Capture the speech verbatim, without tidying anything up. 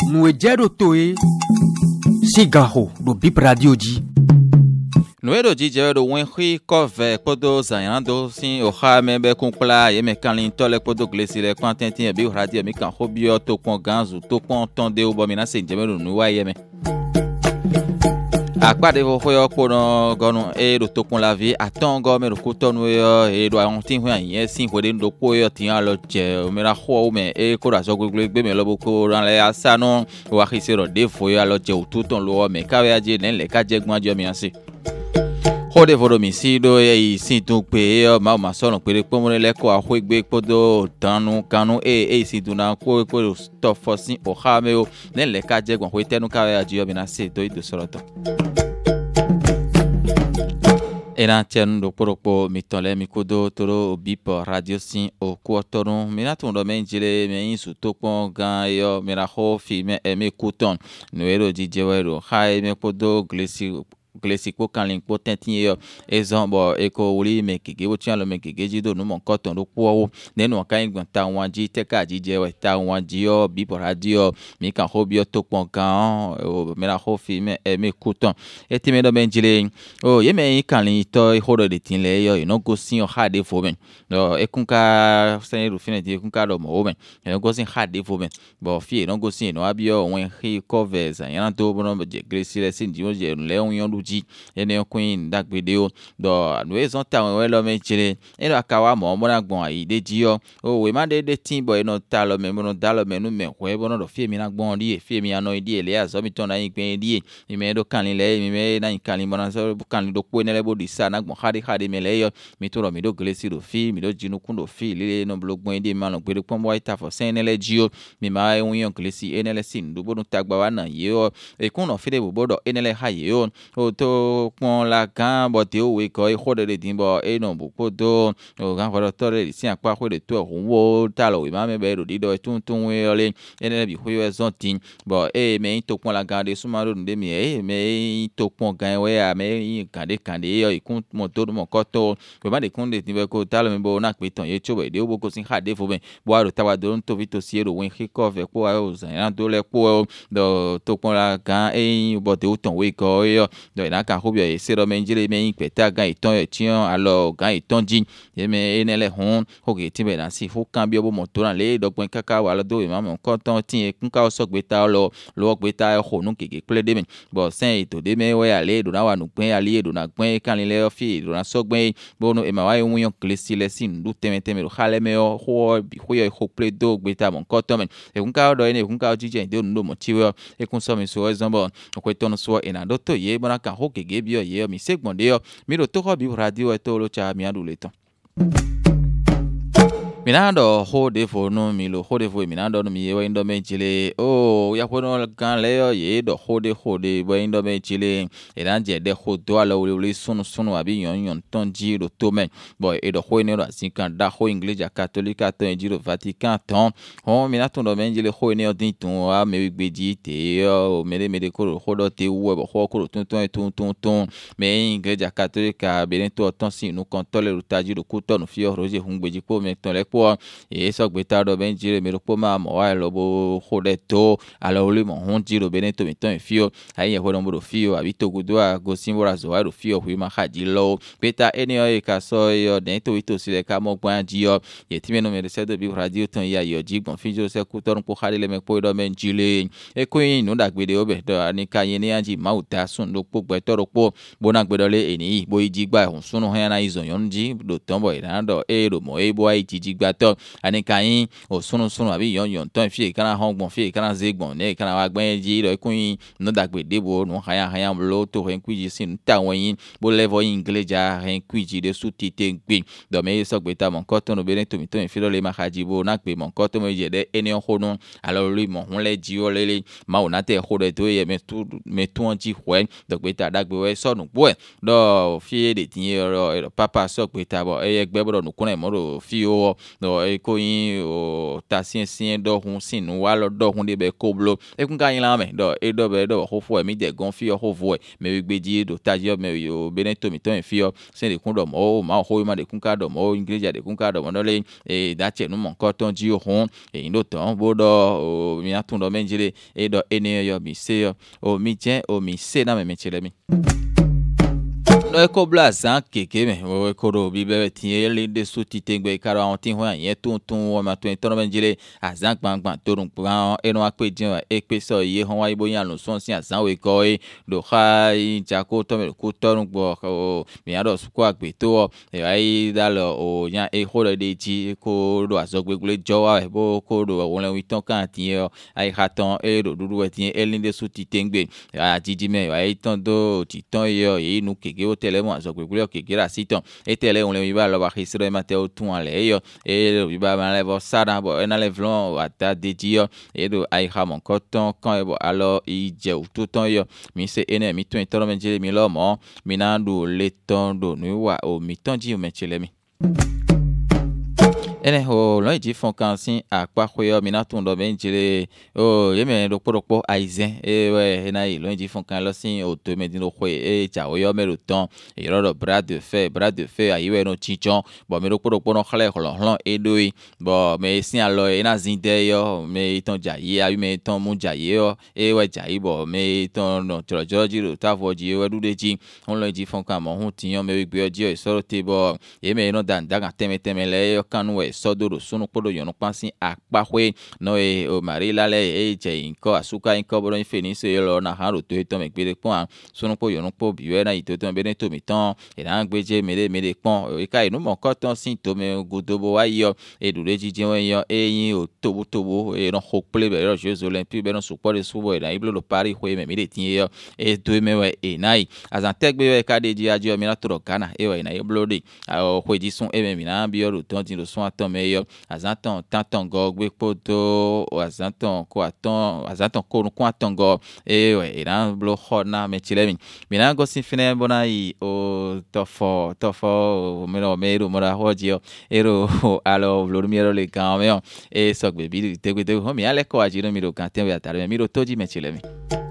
Nous ejero toe sigaho do bip radio di. Nous edo di je do wen khi kove kodo zayando sin o ha me be kunkla ye me kan lin tole kodo glesi le kwantentin e bi radio mi kan hobio to kon ganzu to kon tonde o bo mi na se je me do nu wa ye me. Akpade vo hoyo kono gonu e do tokun la vie atongo me do kutonu yo e do antin ho yan sin ho de do ko yo tin alo je me ra ho me e ko ra so gbegbe gbe me lo boko ran le asanu wa khisero de fo yo alo je ututon lo me ka we aje nen le ka je gbon ajo mi ansi hode vo do mi si do e sin tun pe e ma ma so no pere po mo le ko a ho egbe podo tanu kanu e e si do na ko ko to fo sin o ha me o nen le ka je gbon ho tenu ka we aje yo mi na se do do soroto. Ena tienu do poropo mitole mikodo toro bip radio sin o kuotoru mina tundo menjile me insu tokpon gan yo mira ho fi me e me kuton no ero jijewero hai me podo glesi glesi ko kan lin po tentin yo ezon bo eko wuri me kege wo tian lo me kege jido no mon koton do po nenu kan igban ta wan ji te ka jijewe ta wan ji yo bip radio mi kan ho bi tokpon gan o mira ho fi me e me kuton eti me do menjile o ye me kan lin to horo de tin le yo no go sin o ha de fo ben no ekunka sen ru fine de ekunka do mo ben no go sin ha de fo ben bo fi no go sin no abi o wen hi covers yan to bo no je glesi le sin di o je le on yon ji ene queen dagbede o do no ezon ta we lo me jire e do akawa mo mo na gbon ayi de ji yo o we ma de de tin boy no ta lo me mo no da lo me nu me we bo no do fi mi na gbon ri e fi mi ano di ele azo mi ton na yin gben di e mi do kan le mi me na yin kan mo na so kan do po ne le bo di sa na gbon khade khade me le yo mi to ro mi do glesi do fi mi do jinu kun do fi le no blo gbon di ma no gbe pon boy ta fo sen le ji yo mi ma e won yon glesi e ne le sin do bo no ta gba wa na ye o e kun no fi de bo do e ne le ha ye o o to pon la kan bo te o we ko e khode de din bo e no bu ko do o gan ko to re si apa ko de to o wo ta lo we ma me be ro di do tun tun we ole e ne bi ho yo zon tin bo e me to pon la gan de suma ro de mi e me to pon gan we a me kan de kan de yo ikun mo to mo ko to we ma de kun de tin be ko ta lo me bo na pe ton ye cho be de o bo ko sin ha de fo ben bo aro ta wa do to vi to si ro wen ki ko ve ko a o zan do le ko do to pon la gan e bo de o ton we ko yo do na kan hobio e sero menjire me yin peta gan iton e tian alo gan iton jin ye me enele hon hoge ti be na si fo kan bi obo moto ran le dogbon kaka wa lo do e ma mo kon ton tin e kun ka o so gbe ta lo lo gbe ta ho nu keke ple de me bo sen ito de me we ale do na wa nu pin ale do na gbon kan le fi do na so gbon bo no e ma wa yun yon klesi le sin du teme teme ro hale me o ho bi ho yo ho ple do gbe ta mo kon ton me e kun ka do e ne kun ka jije de no mo ti we e kun so mi so e zon bo ko ton so e na do to ye bo na kan ho keke bi ye mi se gbonde yo mi ro to ko bi radio e to lo cha mi adu le ton minando ho de fo no mi lo ho de fo minando no mi we ndo me chile o ya ko no kan le yo ye do ho de ho de we ndo me chile e dan je de ho do ala o le sunu sunu abi yon yon ton ji ro to men boy e do ho ne ro sin kan da ho Iglesia Catholica ton ji ro Vatican ton ho minato do men chile ho ne odin ton a me gbe ji te o me de me de ko ho do te wo bo ho ko ton ton ton ton ton me Iglesia Catholica be to ton sin nu kon to le ro ta ji ro ku to no fi o roje hun gbeji po me ton le po e so gbe ta do ben jire me ro po ma mo wa lo bo hode to ala ole mo hun jiro be ne to mi ton fi o aye ho do mo fi o abi to gudo a go sin wora zo wa ro fi o hu ma ha ji lo beta eni o e ka so yo den to ito si le ka mo gban ji yo ye ti me no me de se do bi radio ton ya yo ji gbon fi jo se ku torun po khale le me po do men jile e ko yin no da gbe de o be do ani ka yin ni anji ma uta sun do po gbe to ro po bo na gbe do le eni bo ji gba hun sunu han na izon yon ji do ton bo ina do e ro mo e bo ai ji ji gba to ani kayin o sunu sunu abi yon yon ton fi kana hongbon fi kana zegbon ne kana wa gben ji do kun no dagbe debo no haya haya lo to hen kwiji sin ta won yin bo level Iglesia hen kwiji de sutite gbe do me so gbe ta mon koton no beren to mi ton fi lo le ma haji bo na pe mon koton mo je de eni hono alo ri mo hun le ji o lele ma o na te ho de to ye me tu me tu on ji hwen do gbe ta dagbe we so nu bo do fi de tin ro papa so gbe ta bo e gbe bo no kun e mo ro fi o do e ko yin o tasien sien do hun sinu wa lo do hun de be ko blo e kun ka yin la me do e do be do ho fo e mi de gon fi ho vo e me gbe di do taji o me yo beneto mi ton fi o se de kun do mo ma ho ma de kun ka do mo ingreja de kun ka do mo no le e da che nu mon ko ton ji hun e ndo ton bo do o mi atun do menjile e do ene yo mi se yo o mi je o mi se na me me chele mi no e ko bla san keke me o e ko do bi be tin le de so ti tengbe kara on tin ho yen tun tun o ma tun ton menjile azan gbangban torun plan e no ape din e pe so ye hon wa ibo yan lo so sin azan we ko e do kha ja ko to me ko torun gbo o mi ado su ko agbe to e ai da lo o yan e ho de ji ko do azogbe gule jo wa bo ko do won le wi ton kan tin e ai khatan e do dudu we tin e le de so ti tengbe a jiji me ai ton do ti ton yo e nu keke o tele mo azogbe gule keke ra siton e tele on le wi ba lo ba hisro e mate o tun ale yo e wi ba ma le bo sada bo e na le vlon ata de ji yo e do ai ha mon koton kan e bo alo i je o to ton yo mi se ene mi tun ton menjele mi lo mo mi na do le ton do nu wa o mi ton ji o menjele mi ene ho lo ji fon kan sin apa khoyo mi na tun do menjele o ye me do poropo aizen e we na yi lo ji fon kan lo sin o to me din lo khoe e ja o yo me lo ton e ro do bras de fer bras de fer ayi we no chichon bo me do poropo no khle khlo hlo e do yi bo me sin alo e na zin de yo me ton ja yi ayi me ton mu ja yi yo e we ja yi bo me ton no tro jo ji ro ta fo ji we du de ji on lo ji fon kan mo hun ti yan me gbe oji o so te bo e me no dan daga teme teme le yo kan we sodoro sunu podo yonu pansin apahwe no e o marila le e je inko asuka inko bodo infeni se lo na haro to to me gbere pon sunu po yonu po biwe na ito to be to mi ton e na gbeje mere mere pon e ka inu mo ko ton sin to me godobo wa yo e dure jije won yo e yin o tobo tobo e no ho ple be ro jeux olympiques be no support de subo e na iblo lo pari hwe me mere tin yo e to me we e nai azan tegbe we ka de ji ajo mi na to Ghana e we na iblo de o hwe ji sun e me mi na bi yo ton tin lo sun aton me yo azanton tantongo gbe poto azanton ko aton azanton ko ko atongo e we iran blo hona me chilemi mina go sin fine bona yi o tofo tofo me no me ru mora hoji ero alo vlomiero le kan me e sok be bi te te ho mi ale ko ajiro mi ro kan te we atare mi ro toji me chilemi